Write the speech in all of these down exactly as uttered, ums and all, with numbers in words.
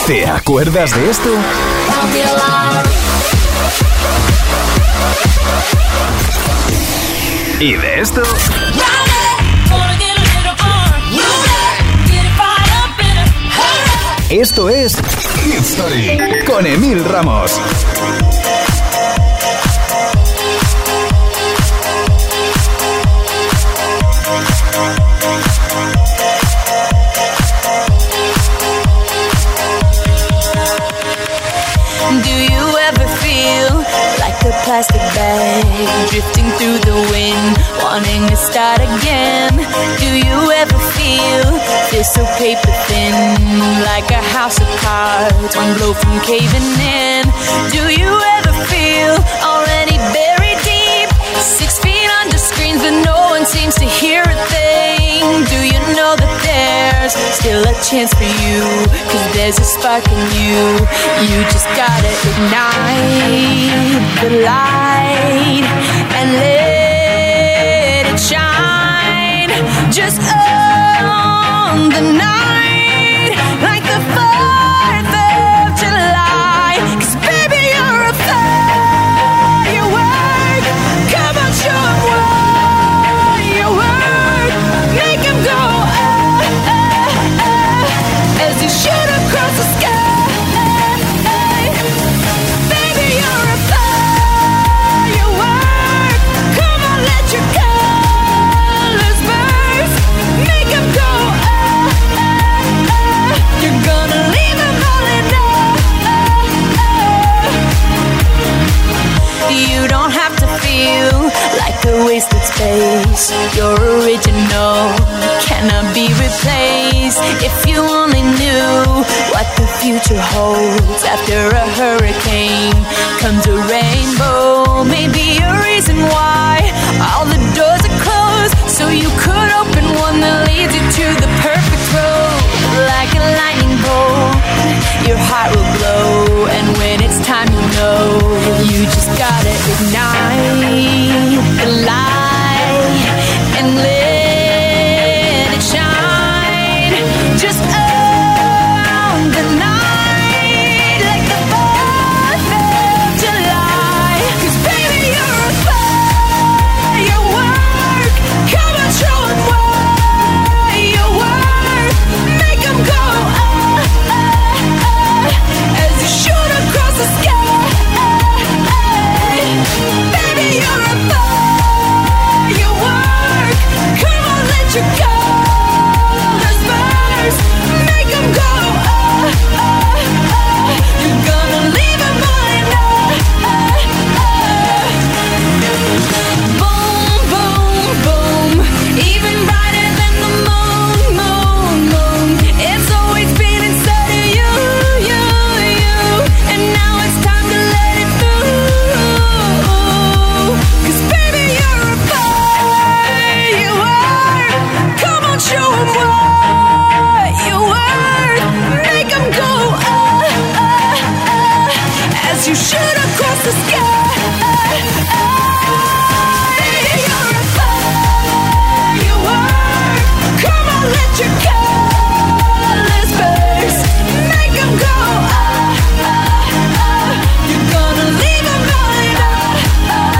¿Te acuerdas de esto? ¿Y de esto? Esto es Hit Story con Emil Ramos. Plastic bag drifting through the wind, wanting to start again. Do you ever feel this so paper thin, like a house of cards, one blow from caving in? Do you ever feel already buried deep, six feet under screens but no one seems to hear a thing? Do you know that there's still a chance for you, cause there's a spark in you, you just gotta ignite the light and let it shine. Just own the night like the fourth of July, cause baby you're a firework. Come on, show 'em what you work. Make 'em go ah, ah, ah, as you shoot across the sky. Wasted space, your original cannot be replaced. If you only knew what the future holds, after a hurricane comes a rainbow. Maybe a reason why all the doors are closed, so you could open one that leads you to the perfect road. Like a lightning bolt, your heart will glow, and when it's time you know, you just gotta ignite the light and let it shine. Just own the night like the fourth of July, cause baby you're a firework. Come on, show 'em what you work. Make 'em go ah, ah, ah, as you shoot across the sky. Baby you're a firework. Come on, let your colors burst. Make 'em go ah, ah, ah. You're gonna leave 'em all ah, ah, ah. Boom, boom, boom, even brighter than the moon, moon, moon. It's always been inside of you, you, you, and now it's time to let it through, cause baby you're a firework. Come on, show 'em what you work. Make 'em go ah, ah, ah, as you shoot across the sky. You're a firework. Come on, let your colors burst. Make 'em go ah, ah, ah. You're gonna leave 'em blind ah, ah,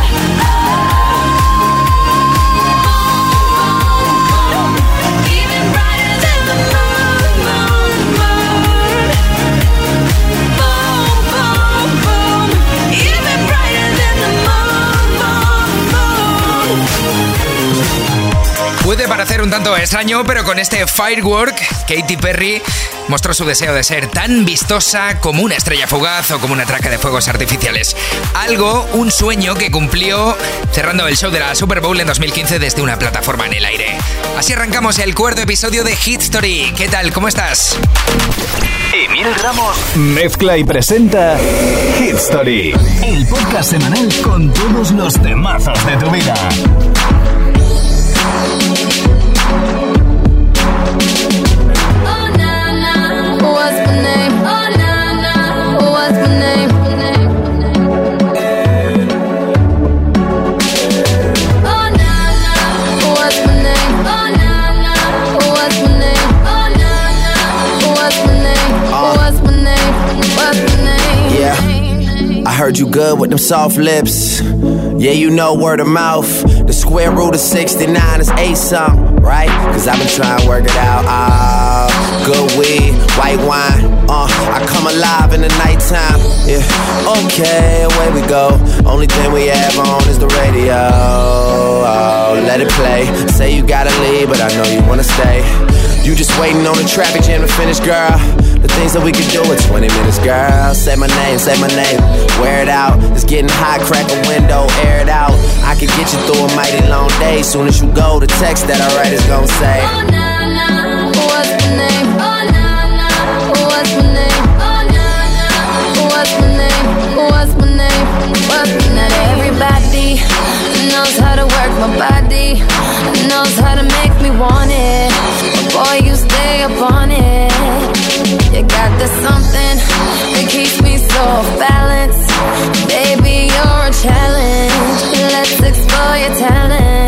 ah. Even brighter than the moon, moon, moon. Boom, boom, boom, even brighter than the moon, moon, moon. Puede parecer un tanto extraño, pero con este Firework, Katy Perry mostró su deseo de ser tan vistosa como una estrella fugaz o como una traca de fuegos artificiales. Algo, un sueño que cumplió cerrando el show de la Super Bowl en dos mil quince desde una plataforma en el aire. Así arrancamos el cuarto episodio de Hit Story. ¿Qué tal? ¿Cómo estás? Emil Ramos mezcla y presenta Hit Story, el podcast semanal con todos los temazos de tu vida. What's my name? heard you good with them soft lips. Yeah, you know word of mouth. The square root of sixty-nine is eight something, right? Cause I've been trying to work it out. Ah, good weed, white wine. Uh, I come alive in the nighttime. Yeah, okay, away we go. Only thing we have on is the radio. Oh, let it play. Say you gotta leave, but I know you wanna stay. You just waiting on the traffic jam to finish, girl. The things that we could do in twenty minutes, girl. Say my name, say my name. Wear it out. It's getting hot, crack a window, air it out. I could get you through a mighty long day. Soon as you go, the text that I write is gonna say, oh, nah, nah, what's my name? Oh, nah, nah, what's my name? Oh, nah, nah, what's my name? What's my name? What's my name? Not everybody knows how to work my body, knows how to make me want it. But boy, you stay up on it. You got the something that keeps me so off balance. Baby, you're a challenge. Let's explore your talent.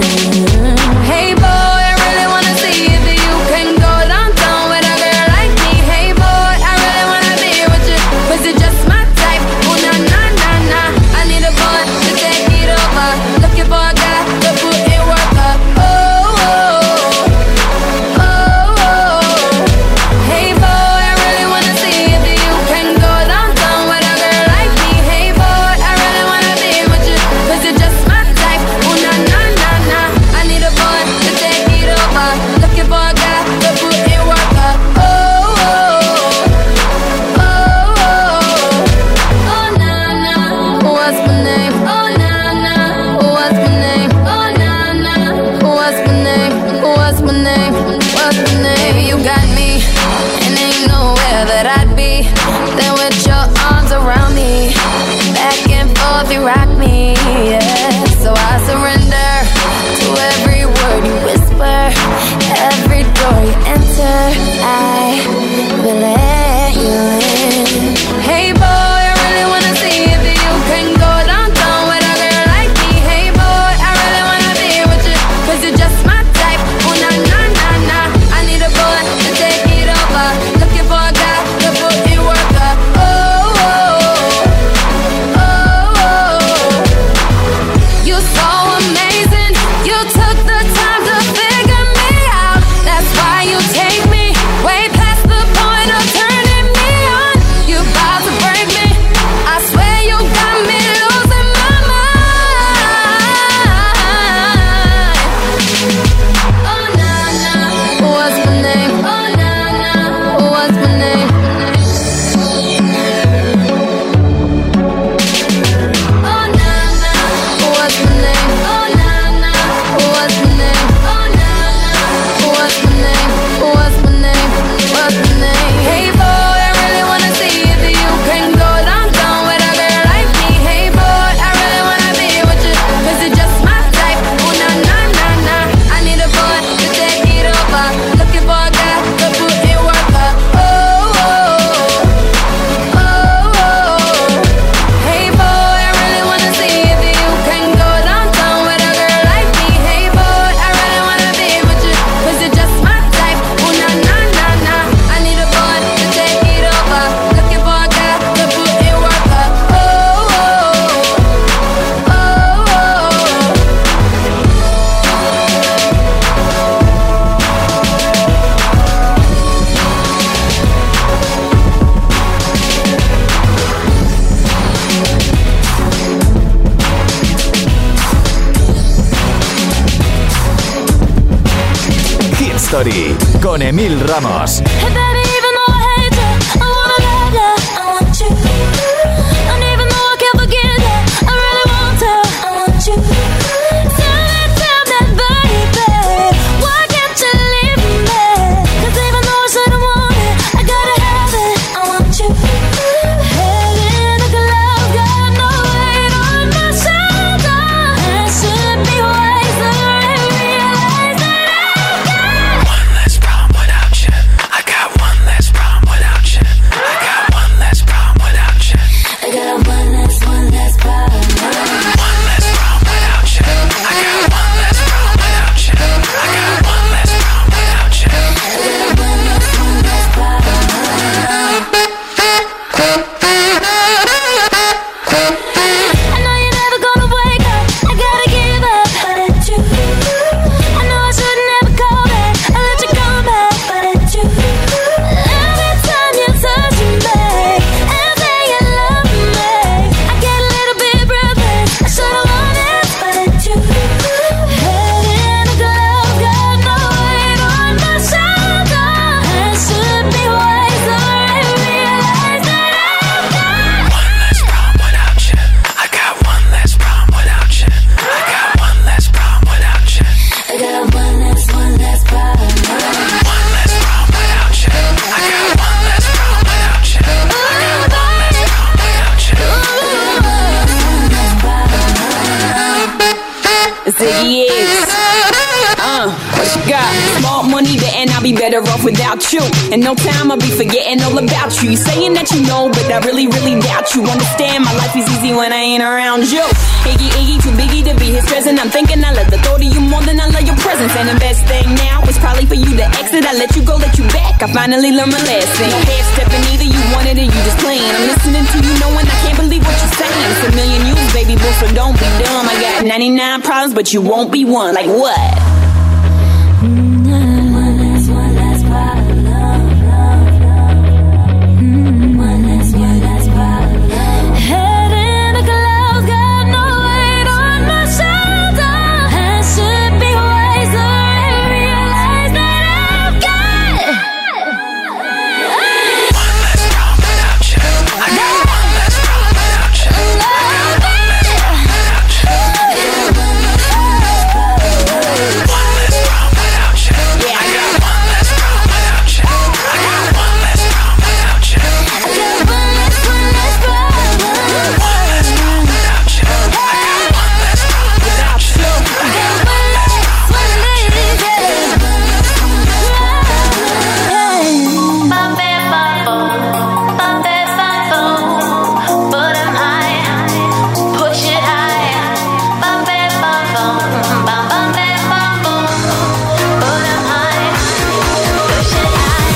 Hey boy, I really wanna see if you can go downtown with a girl like me. Hey boy, I really wanna be with you, cause you're just my type. Oh na na na na, I need a boy to take it over. Looking for a guy to put in work up. Oh, oh, oh, oh. Hey boy, I really wanna see if you can go downtown with a girl like me. Hey boy, I really wanna be with you, cause you're just my type. Oh na na na na, I need a boy to take it over. Looking for a guy to put in work up. Oh, oh, oh, oh, oh na na, what's my name? Oh na na, what's my name? Oh na na, what's my name? What's my name? What's my name? You got me, and ain't nowhere that I'd be than with your arms around me. Back and forth you rock me, yeah. So I surrender to every word you whisper, every door you enter. I will let you in. Hey boy, I really wanna see if you can go downtown with a girl like me. Hey boy, I really wanna be with you, cause you're just my type. Oh na na na na, I need a boy to take it over. Looking for a guy to put in work up. Oh, oh, oh, oh. You so amazing, you took the time to figure me out. That's why you take me way past the point of turning me on. You about to break me, I swear you got me losing my mind. Oh na na, what's my name? Oh na na, what's my name? Oh na na, what's my name? Oh na na, what's my name? Oh na na, what's my name? What's my name? What's my name? Hey boy, I really wanna see if you can go downtown with a girl like me. Hey boy, I really wanna be with you, cause you're just my type. Oh na na na na, I need a boy to take it over. Looking for a guy to put in work up. Oh, oh, oh, oh. Hey boy, I really wanna see if you can go downtown with a girl like me. Hey boy, I really wanna be with you, cause you're just my type. Oh na na na na, I need a boy to take it over. Looking for a guy to put in work up. Oh, oh, oh, oh. Hit Story con Emil Ramos. Hey baby, even though I hate you, I wanna love you, I want you. And even though I can't forget you, I really want to, I want you. Tell me, tell me, baby, why can't you leave me? Cause even though I said I want it, I gotta have it, I want you. Head in a cloud, got no weight on my shoulder. And should be wiser and realize that I've got one less problem without you. I got one less better off without you. In no time I'll be forgetting all about you. You saying that you know, but I really, really doubt you. Understand my life is easy when I ain't around you. Iggy, Iggy, too biggie to be his present. I'm thinking I love the thought of you more than I love your presence. And the best thing now is probably for you to exit. I let you go, let you back. I finally learned my lesson. No half stepping either, you wanted it, you just playing. I'm listening to you knowing I can't believe what you're saying. It's a million you, baby boo, so don't be dumb. I got ninety-nine problems, but you won't be one. Like what? One last, one last problem. Mm, one last, one last problem. Head in the clouds, got no weight on my shoulder. I should be wiser and realize that I've got one less problem without you. I got one less problem without you. I got one less problem without you. One less problem without you. I got one less problem without you. I got one less problem without you. I got one less, one less problem. One less problem without you. I got one less problem without you. I got one less, one less. Bump it, bump, bump it, bump, but I'm high, push it high. Bump it, bump, bump, bump it, bump, but I'm high, push it high.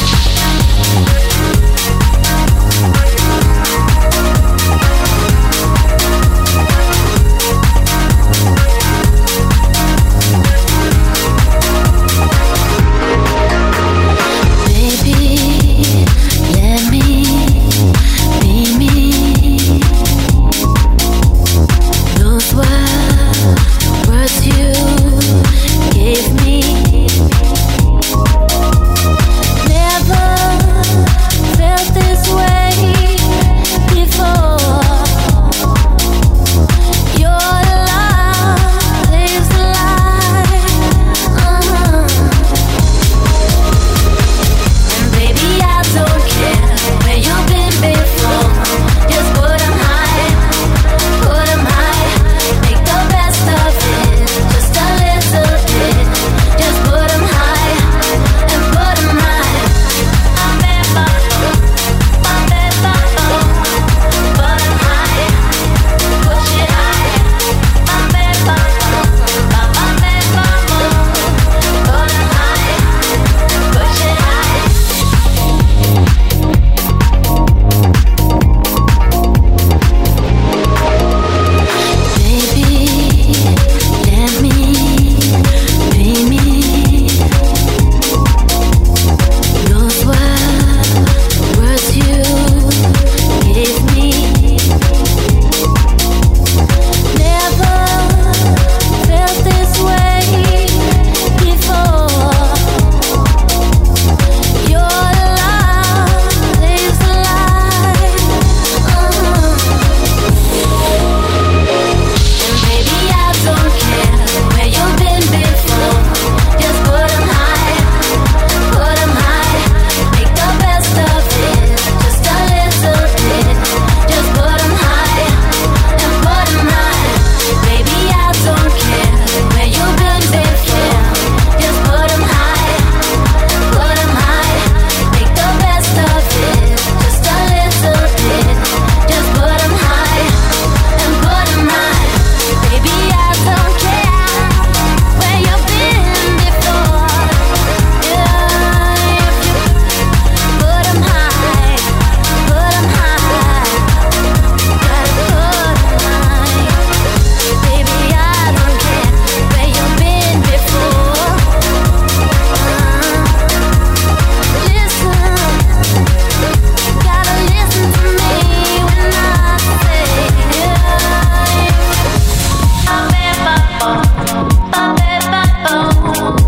Baby, let me be me. Those were words you gave me. Never felt this way before. Your love is alive. Uh-huh. And baby, I don't care where you've been before. Just put 'em high, put 'em high. Make the best of it, just a little bit. Just put 'em high and put 'em high. Bump it, bump, bump it, bump, put 'em high, push it high. Bump it, bump, bump, bump it, bump, put 'em high, push it high. Baby, let me be me. Those were words you gave me. Never felt this way before. Your love is alive. Uh-huh. And baby, I don't care where you've been before. Just put 'em high, put 'em high. Make the best of it, just a little bit. Just put 'em high and put 'em high. Baby, I don't care where you've been before. Just put 'em high, put 'em high. Make the best of it, just a little bit. Just put 'em high and put 'em high. Baby, I don't care where you've been before. Yeah, if you put 'em high, put 'em high. Gotta put 'em high. Baby, I don't care where you've been before. Listen, gotta listen to me when I say yeah. Bump it, bump, bump it, bump.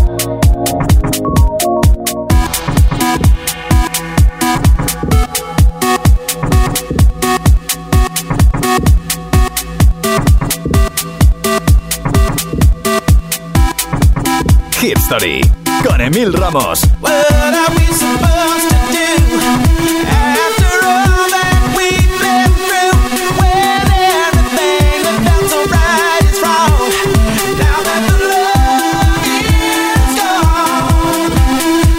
Hit Story con Emil Ramos. What are we supposed to do after all that we've been through? When everything that felt so right is wrong. Now that the love is gone,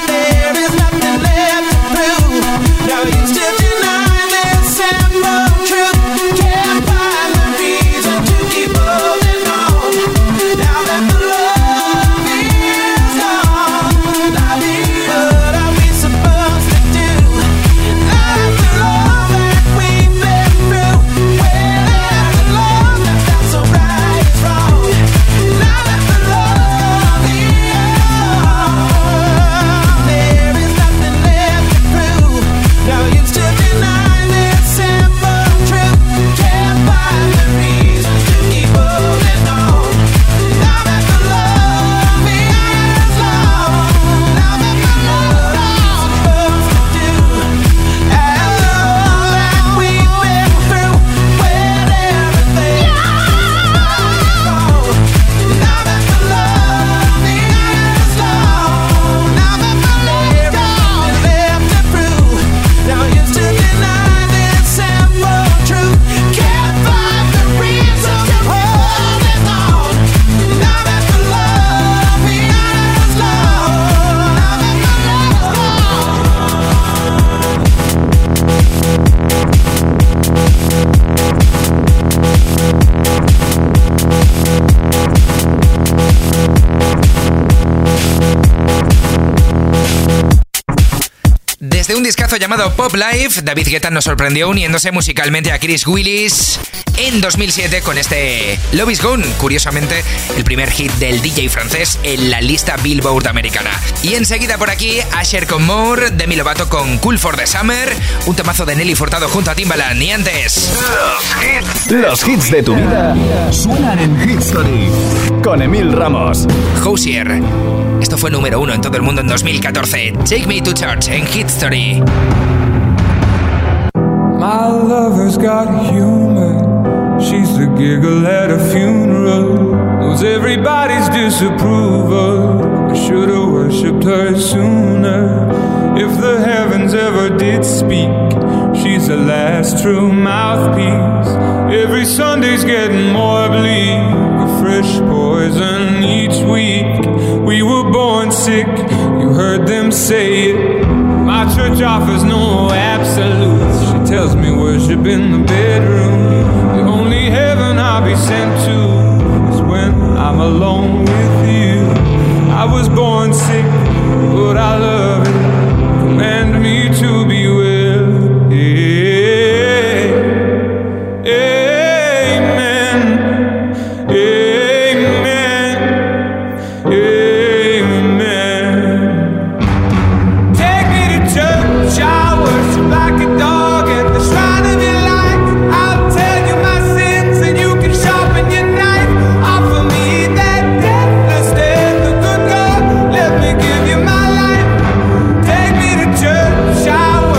discazo llamado Pop Life, David Guetta nos sorprendió uniéndose musicalmente a Chris Willis en dos mil siete con este Love Is Gone, curiosamente el primer hit del D J francés en la lista Billboard americana. Y enseguida por aquí, Asher con More, Demi Lovato con Cool for the Summer, un temazo de Nelly Furtado junto a Timbaland. Y antes, los hits, los hits de tu vida suenan en Hit Story con Emil Ramos. Hozier. Esto fue número uno en todo el mundo en dos mil catorce. Take Me to Church en Hit Story. My lover's got humor. She's the giggle at a funeral. Knows everybody's disapproval. I should've worshipped her sooner. If the heavens ever did speak, she's the last true mouthpiece. Every Sunday's getting more bleak, a fresh poison each week. We were born sick, you heard them say it. My church offers no absolutes. She tells me worship in the bedroom. The only heaven I'll be sent to is when I'm alone with you. I was born sick, but I love it. Command me to be well. Yeah. Amen. Amen. Amen. Take me to church. I worship like a dog at the shrine of your life. I'll tell you my sins and you can sharpen your knife. Offer me that deathless death, the good God. Let me give you my life. Take me to church. I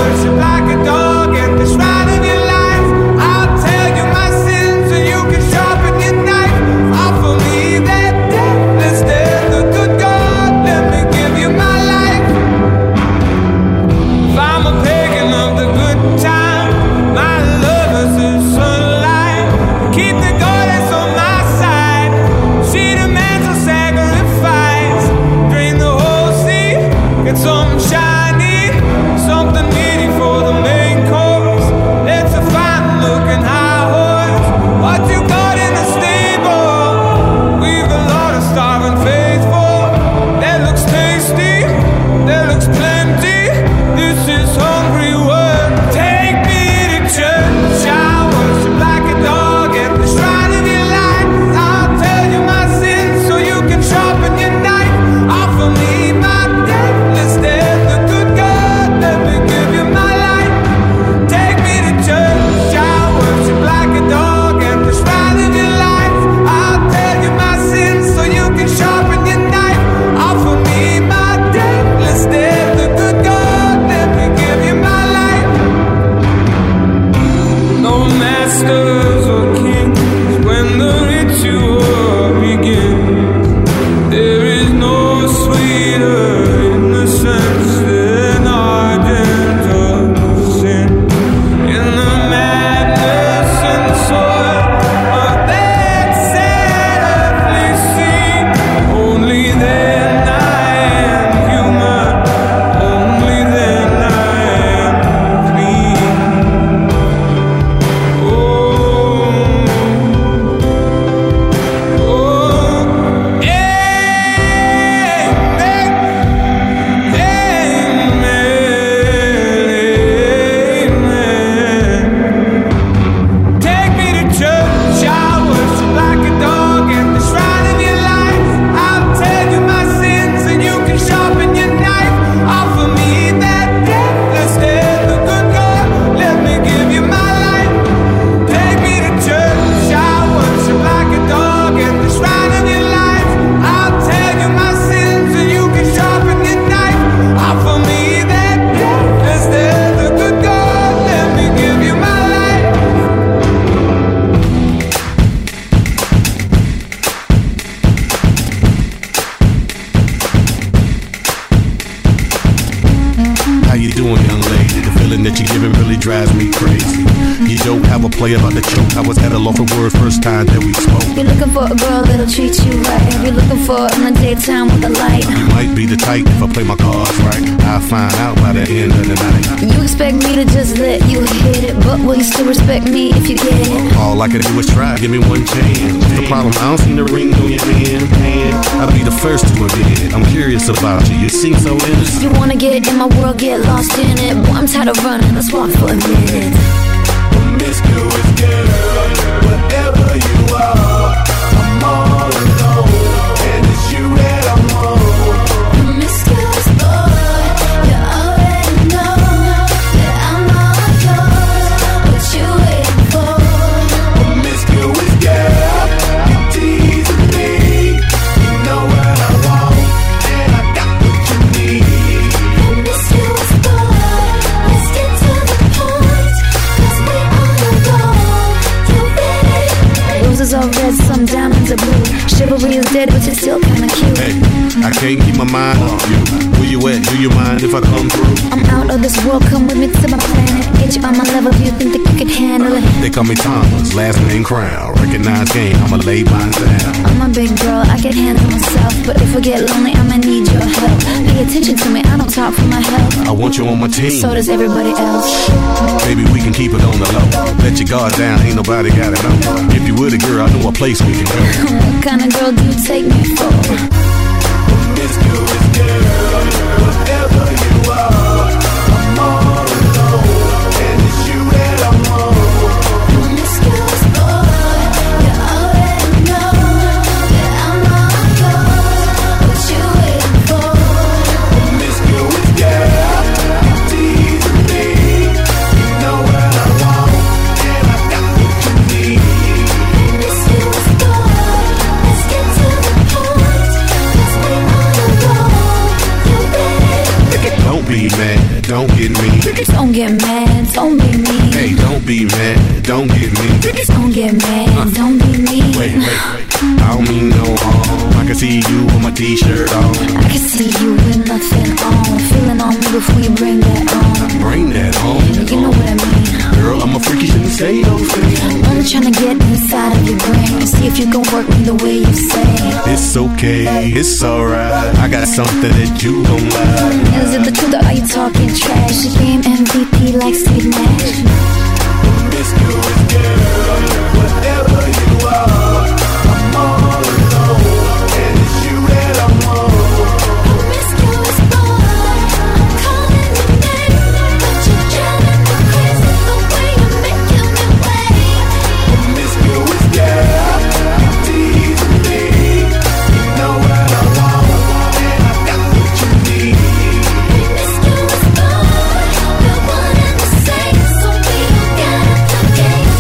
drives me crazy. You don't have a play about the choke. I was at a loss for words first time that we spoke. You're looking for a girl that'll treat you right. You're looking for in the daytime with a light. You might be the type if I play my cards right. I'll find out by the end of the night. You expect me to just let you hit it, but will you still respect me if you get it? All I can do is try, give me one chance. What's the problem? I don't see the ring on your hand. hand. I'll be the first to admit. I'm curious about you, you seem so innocent. You wanna get in my world, get lost in it. Boy, I'm tired of running, let's walk for a minute. Promiscuous girl, whatever you are, I'm all alone, and it's you that I'm on. Promiscuous boy, you already know that I'm all yours. What you waiting for? Promiscuous girl, you teasing me. You know what I want, and I got what you need. Promiscuous boy, let's get to the point, 'cause we on the road. You ready? Roses are red, some diamonds are blue. Chivalry is dead, but you're still kinda cute. Hey, I can't keep my mind off you. Where you at? Do you mind if I come through? I'm out of this world, come with me to my planet. Get you on my level, do you think that you could handle it? They call me Thomas, last name Crown. Recognize game, I'ma lay mine down. I'm a big girl, I can handle myself. But if I get lonely, I'ma need your help. Pay attention to me, I don't talk for my health. I want you on my team. So does everybody else. Maybe we can keep it on the low. Let your guard down, ain't nobody got it on. If you were the girl, I know a place we can go. What kind of girl do you take me for? Promiscuous girl, whatever you are, I'm all alone, and it's you that I'm on. Promiscuous boy, you already know that I'm all yours. What you waiting for? Promiscuous girl, you teasing me. You know what I want, and I got what you need. Promiscuous boy, let's get to the point, 'cause we on the road. You ready? Don't be mad, don't get me. Don't get mad, don't be mean. Hey, don't be mad, don't get me. Don't get mad, don't be mean. Wait, wait, wait. I don't mean no harm. I can see you with my t-shirt on. I can see you with nothing on. Feeling on me before you bring that on. Bring that on. You know what I mean. Girl, I'm a freaky, shouldn't say those things. Only trying to get inside of your brain. See if you can work me the way you say. It's okay, it's alright. I got something that you don't like. Is it the truth or are you talking trash? You game M V P like Steve Nash. Promiscuous girl, whatever you are, I'm all alone, and it's you that I'm on. Promiscuous boy, I'm calling your name, but you're driving me crazy the way you're making me wait. Promiscuous girl, you teasing me. You know what I want, and I got what you need. Promiscuous boy, we're one and the same, so we don't gotta play games.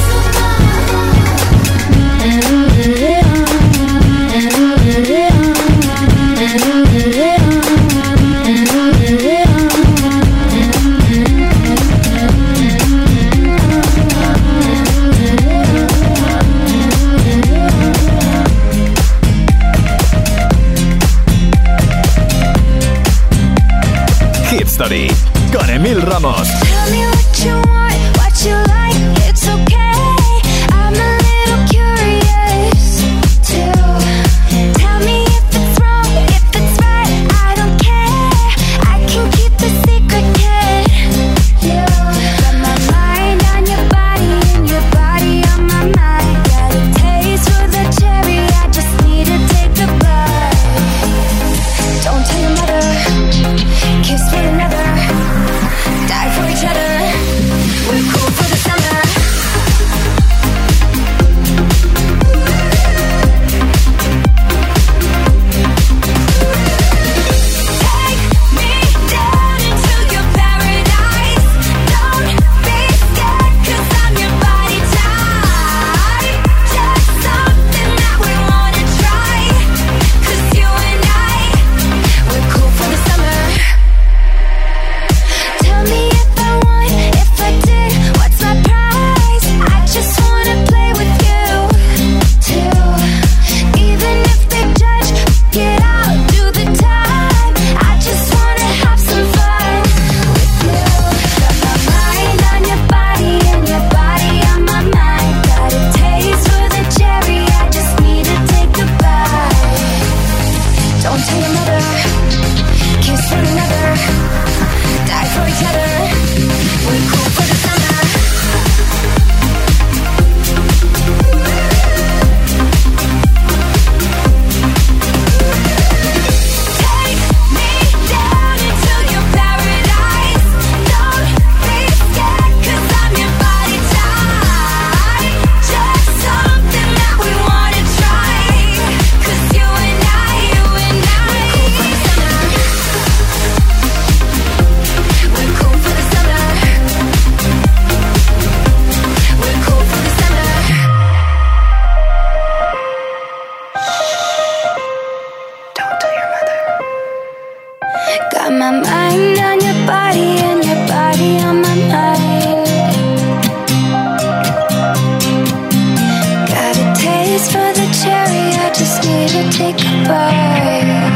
to take a break.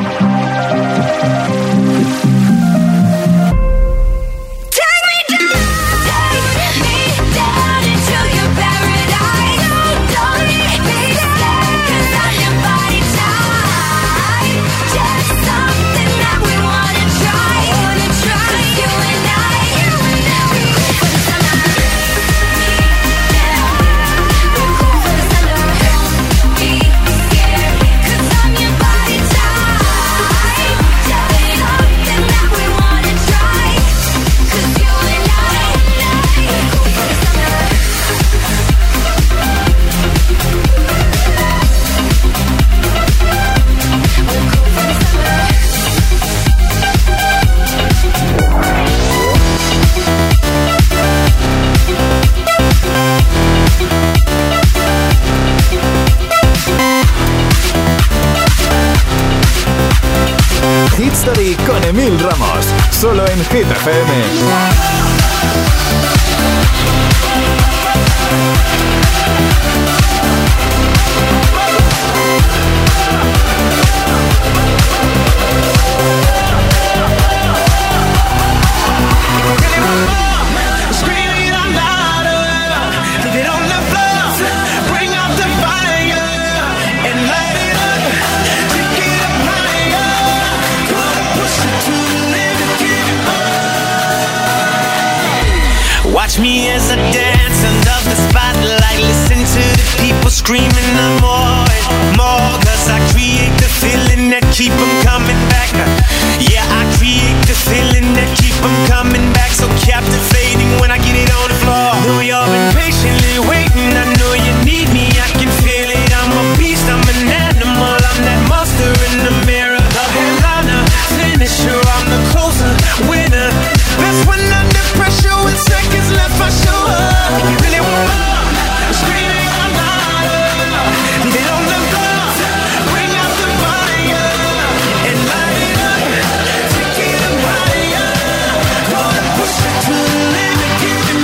Hit Story con Emil Ramos, solo en Hit F M. Watch me as I dance under the spotlight. Listen to the people screaming I'm more and more. Cause I create the feeling that keep them coming back. Yeah, I create the feeling that keep them coming back. So captivating when I get it on the floor. Know you've been patiently waiting. I know you need me, I can feel it. I'm a beast, I'm an animal. I'm that monster in the mirror. The headliner, finisher, I'm the closer, winner. Best when under pressure with seconds left, I show up. You really want more? Screaming out louder. Leave it on the floor. Bring out the fire and light it up. Take it up higher. Gonna push it to the limit, give it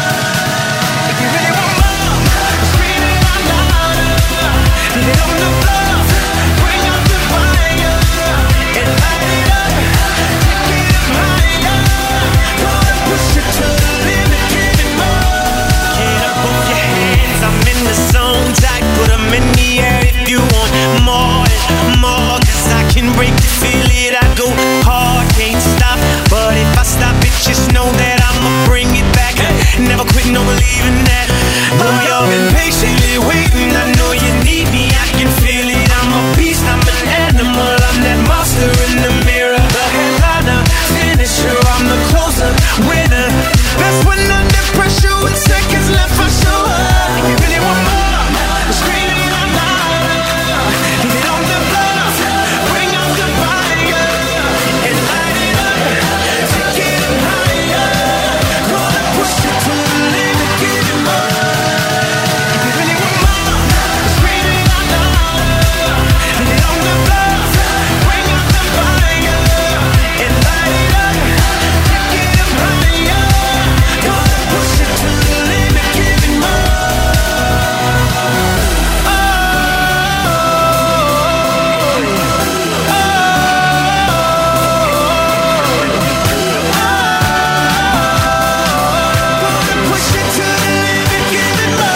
more. If you really want more, screaming out louder. Leave it on the floor. Bring out the fire and light it up. Take it up higher. Gonna push it to the limit, give it more. Get up off your hands, I'm in the zone. Tight, put them in the air if you want more and more. Cause I can break it, feel it, I go hard, can't stop. But if I stop it, just know that I'ma bring it back. Never quit, no believing that. Know you've been patiently waiting. I know you need me, I can feel it. I'm a beast, I'm an animal. I'm that monster in the mirror. The headliner, finisher, I'm the closer, winner. Best when under pressure with seconds left, I show up. You really want more? Screaming out louder. Leave it on the floor. Bring out the fire and light it up. Take it up higher. Gonna push it to the limit, give it more. If you really want more, screaming out louder. Leave it on the floor. Bring out the fire and light it up. Take it up higher. Gonna push it to the limit, give it more. Push it to the limit, give it more.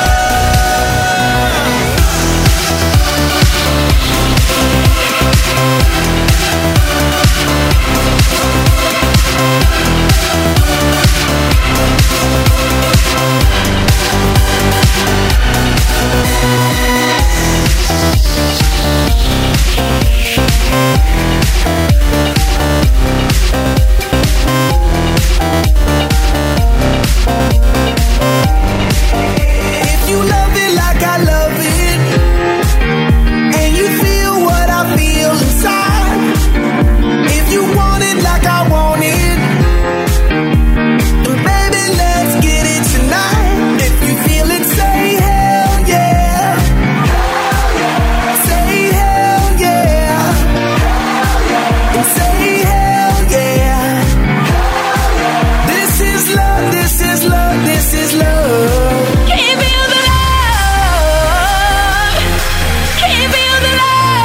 If you love it like I love it, and you feel what I feel inside, if you want it like I want it, then baby, let's get it tonight. If you feel it, say hell yeah. Say hell yeah. And say hell yeah. This is love, this is love, this is love. Can't feel the love. Can't feel the love.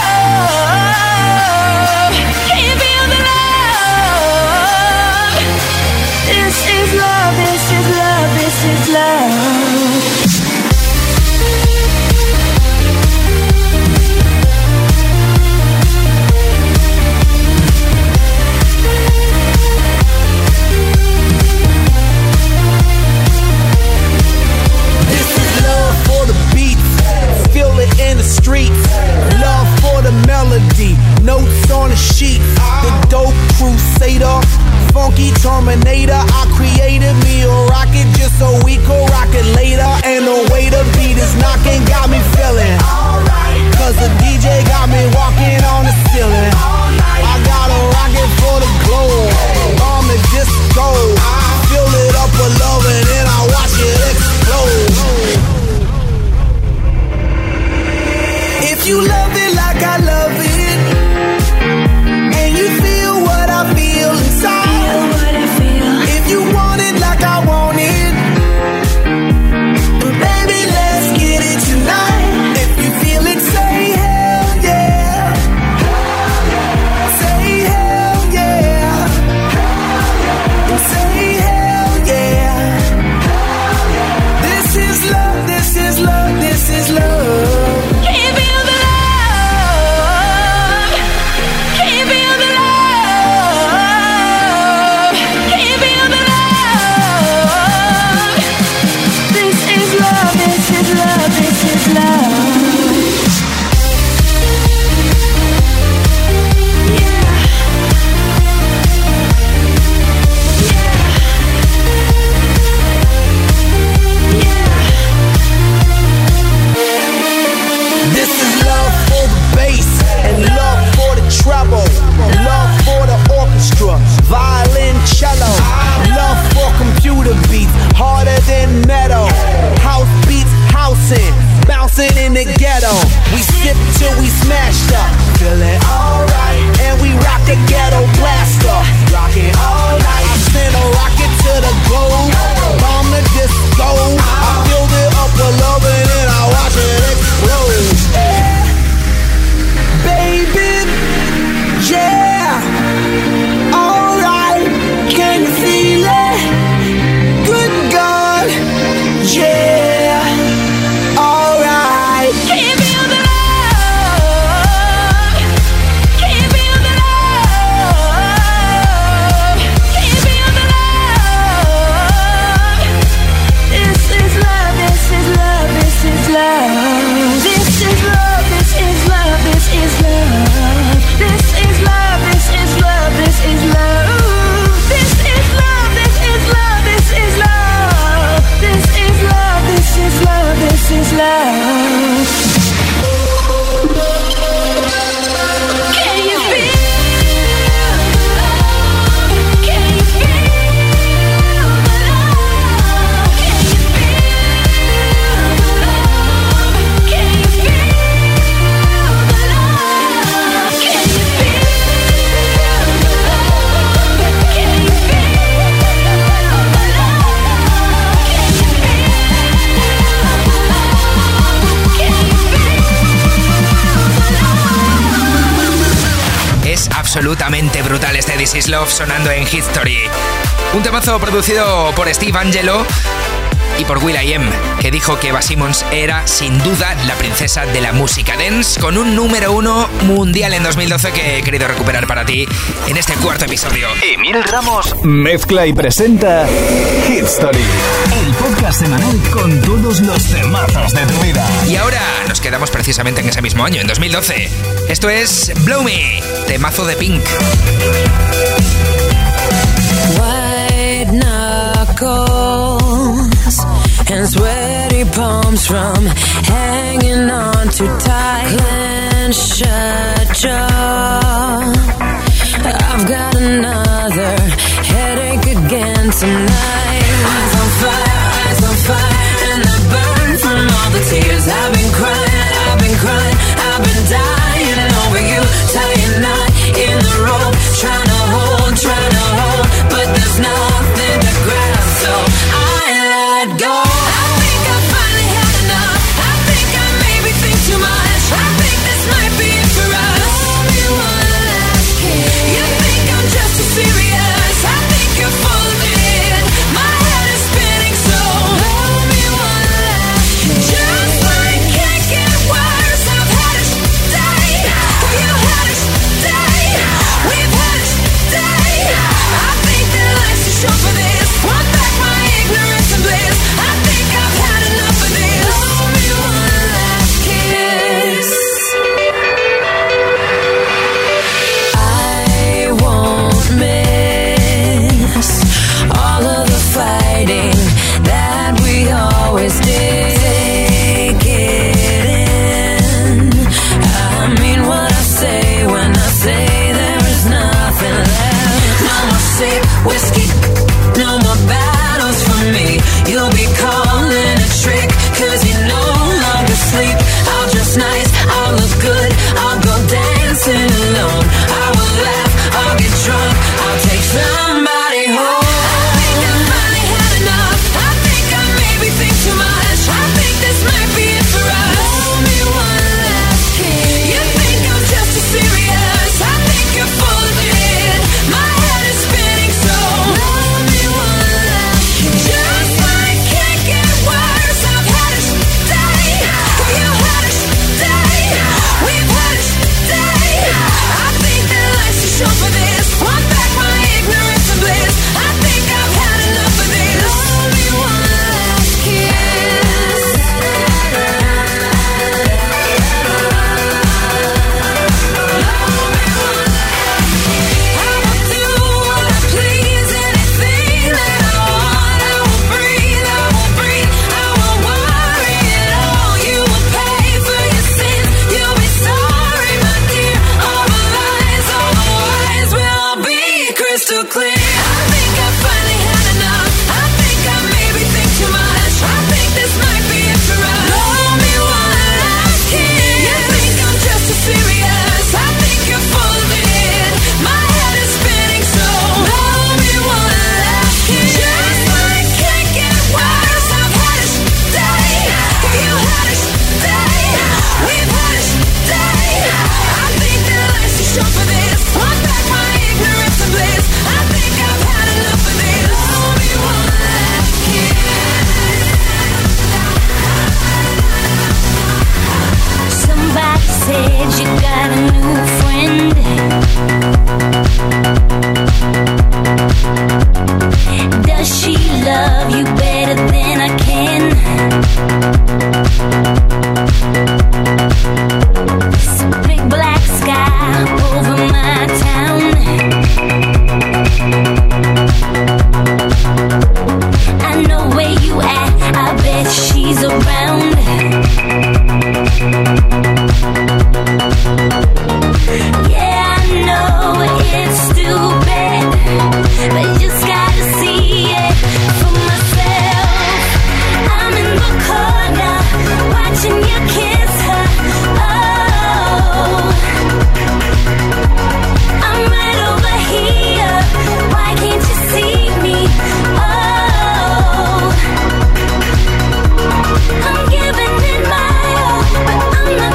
absolutamente brutal este This Is Love sonando en History. Un temazo producido por Steve Angello y por will.i.am, que dijo que Eva Simmons era sin duda la princesa de la música dance, con un número uno mundial en dos mil doce que he querido recuperar para ti en este cuarto episodio. Emil Ramos mezcla y presenta History, el podcast semanal con todos los temazos de tu vida. Y ahora nos quedamos precisamente en ese mismo año, en dos mil doce. Esto es Blow Me, temazo de Pink. White knuckles and sweaty palms from hanging on too tight. Clenched shut jaw. I've got another headache again tonight. Eyes on fire, eyes on fire, and I burn from all the tears. I've been crying, I've been crying, I've been dying over you. Tying knot in the rope, trying to hold, trying to hold, but there's nothing to grab, so I let go. I think I finally had enough. I think I maybe think too much. I think this might be it for us. Blow me one last kiss. You think I'm just too serious. I think you're full of it. My head is spinning, so blow me one last kiss. Just like can't get worse. I've had a day. You had a day. We've had a day. I think that life's too short for this. Want back my ignorance and bliss. I think I've had enough of this. Blow me one last kiss. I won't miss all of the fighting that we always did. Take it in. I mean what I say when I say there is nothing left. No more sip, whiskey, no more battles for me. You'll be calling a trick, cause you no longer sleep. I'll dress nice, I'll look good, I'll go dancing alone. I will laugh, I'll get drunk, I'll take somebody home. I think I finally had enough. I think I maybe think too much. I think this might be it for us. Blow me one last kiss. You think I'm just too serious. I think you're full of it. My head is spinning, so blow me one last kiss. Just like can't get worse. I've had a day. You had a day. We've had a day. I think that life's too short for this. Want back my ignorance and bliss. I think I've had enough of this. Blow me one last kiss. I will do what I please, anything that I want. I will breathe, I will breathe, I won't worry at all. You will pay for your sins, you'll be sorry, my dear. All the lies, all the lies will all be crystal clear. I think I finally had enough. I think I maybe think too much. I think this might be it for us. Blow me one last kiss. You think I'm just too serious. I think you're full of it. My head is spinning, so blow me one last kiss. Just like can't get worse. I've had a day. You had a day. We've had a day. I think that life's too short for this. Want back my ignorance and bliss. I think I've had enough of this. Blow me one last kiss. Somebody said you got a new friend. Does she love you better than I can? It's a big black sky over my town. I know where you at, I bet she's around. Yeah, I know it's stupid, but you just gotta see it for myself. I'm in the corner, watching you kiss her. Oh, I'm right over here. Why can't you see me? Oh, I'm giving it my all, but I'm not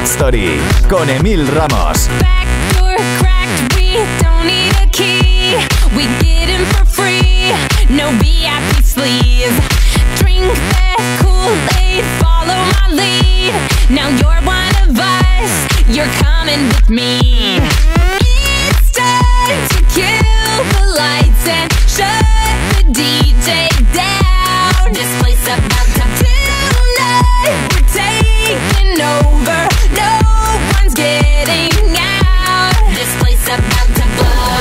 Hit Story con Emil Ramos. Backdoor cracked, we don't need a key. We get in for free, no V I P sleeves. Drink that Kool-Aid, follow my lead. Now you're one of us, you're coming with me. It's time to kill the lights and shut the D J down. This place about to tonight, we're taking over. No one's getting out. This place about to blow.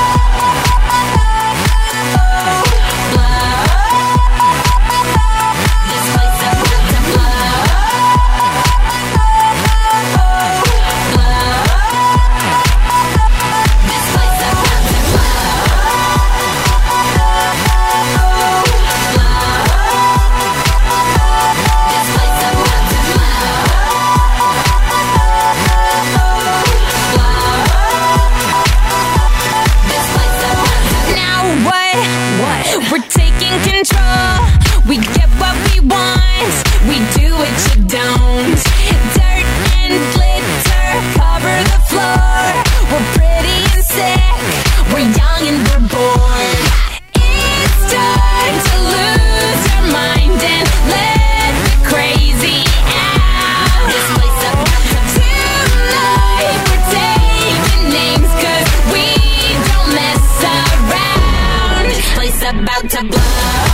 We get what we want, we do what you don't. Dirt and glitter cover the floor. We're pretty and sick, we're young and we're bored. It's time to lose our mind and let the crazy out. This place about to tonight, we're taking names cause we don't mess around. This place about to blow.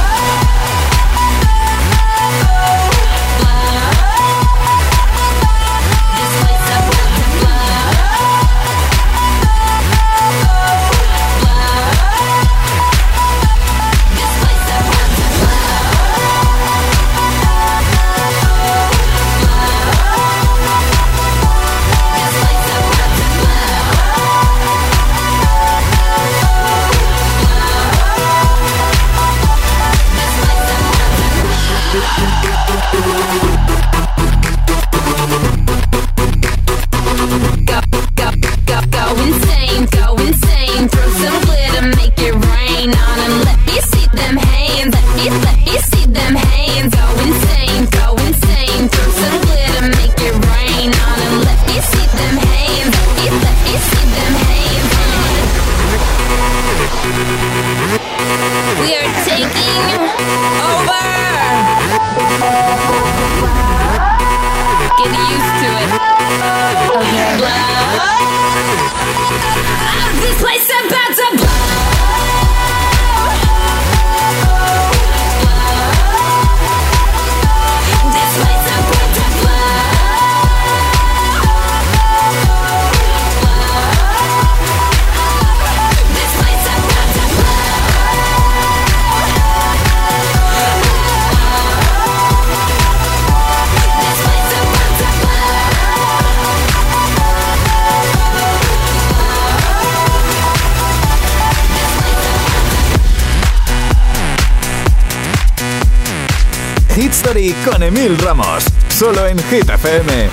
Hit Story con Emil Ramos, solo en Hit F M.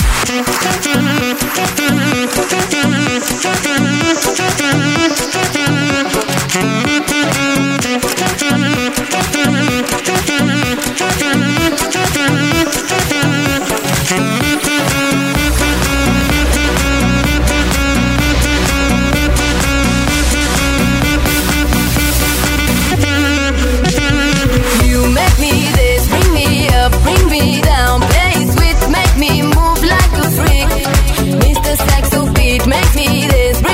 You make me this, bring me up, bring me down. Play sweet, make me move like a freak. Mister Saxo beat, make me this.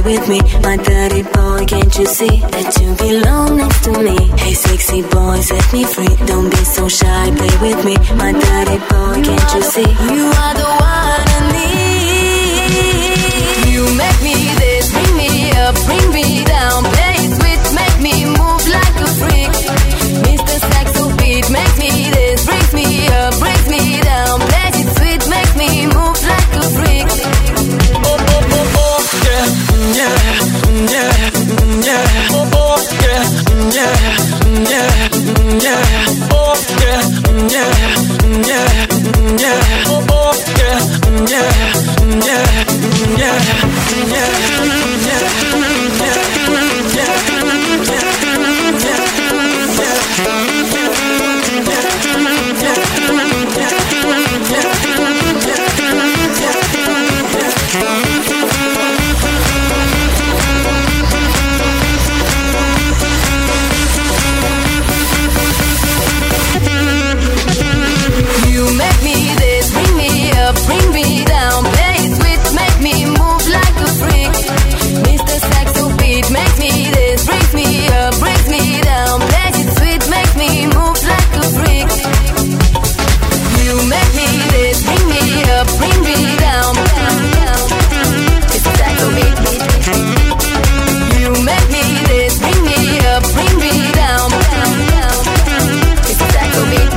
with me, my dirty boy, can't you see that you belong next to me? Hey sexy boy, set me free, don't be so shy, play with me, my dirty boy, can't you see? You are the one I need. You make me this, bring me up, bring me down, play it sweet, make me move like a freak. Mister Saxo beat makes me this, brings me up, brings me down, play it sweet, makes me move like a freak. Oh, oh, oh, oh, yeah, yeah, yeah, yeah, oh, oh, yeah, yeah, yeah, yeah, oh, yeah, yeah, yeah, yeah, oh, oh, yeah, yeah, yeah, yeah, yeah, bring me down, play it sweet, make me move like a freak. Mister Saxo beat makes me this, brings me up, brings me down, play it sweet, makes me move like a freak. You make me this, bring me up, bring me down, down, down. Mister Saxo beat, you make me this, bring me up, bring me down, down, down. Mister Saxo beat.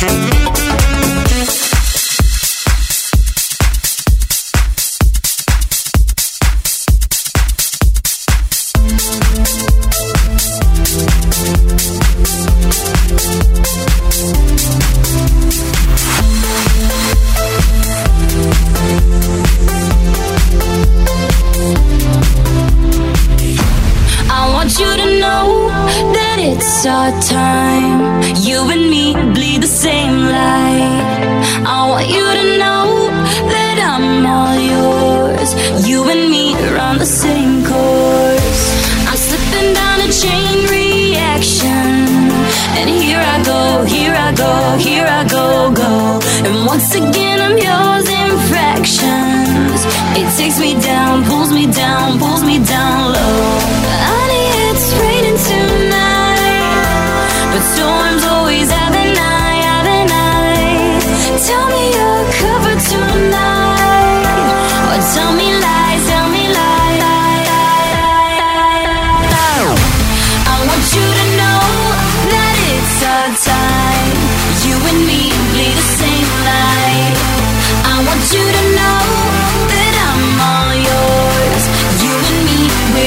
It's our time, you and me bleed the same light. I want you to know that I'm all yours. You and me run the same course. I'm slipping down a chain reaction, and here I go, here I go, here I go, go. And once again I'm yours in fractions. It takes me down, pulls me down, pulls me down low. Honey, it's raining tonight, but storms always have an eye, have an eye. Tell me you're covered tonight, or tell me lies, tell me lies, lie, lie, lie, lie, lie. I want you to know that it's our time. You and me bleed the same light. I want you to know that I'm all yours. You and me, we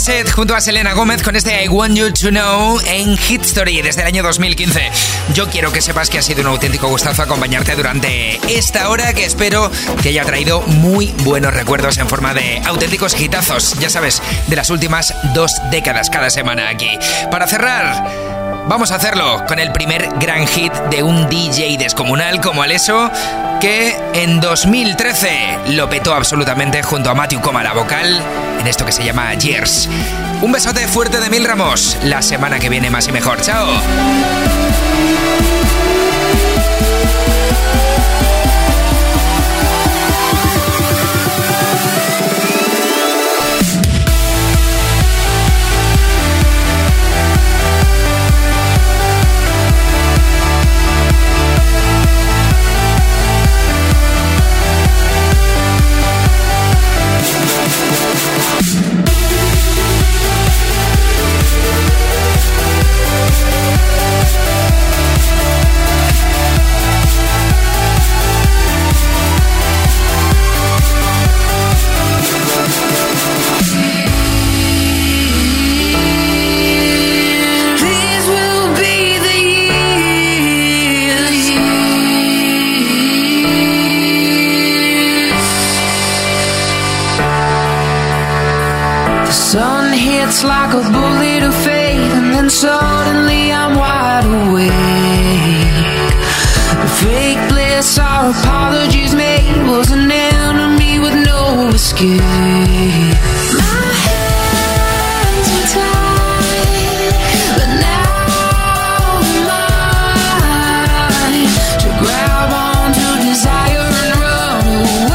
Bassett junto a Selena Gómez con este I Want You to Know en Hit Story desde el año dos mil quince. Yo quiero que sepas que ha sido un auténtico gustazo acompañarte durante esta hora, que espero que haya traído muy buenos recuerdos en forma de auténticos hitazos, ya sabes, de las últimas dos décadas cada semana aquí. Para cerrar, vamos a hacerlo con el primer gran hit de un D J descomunal como Alesso, que en dos mil trece lo petó absolutamente junto a Matthew Coma la vocal en esto que se llama Years. Un besote fuerte de Mil Ramos. La semana que viene más y mejor. ¡Chao! It's like a bullet of fate, and then suddenly I'm wide awake. The fake bliss our apologies made was an enemy with no escape. My hands are tied, but now I'm mine to grab onto desire and run away.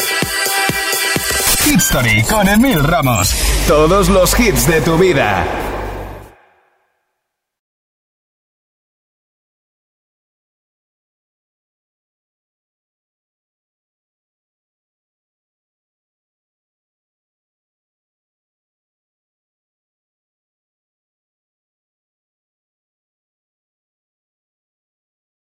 Con Emil Ramos. Todos los hits de tu vida.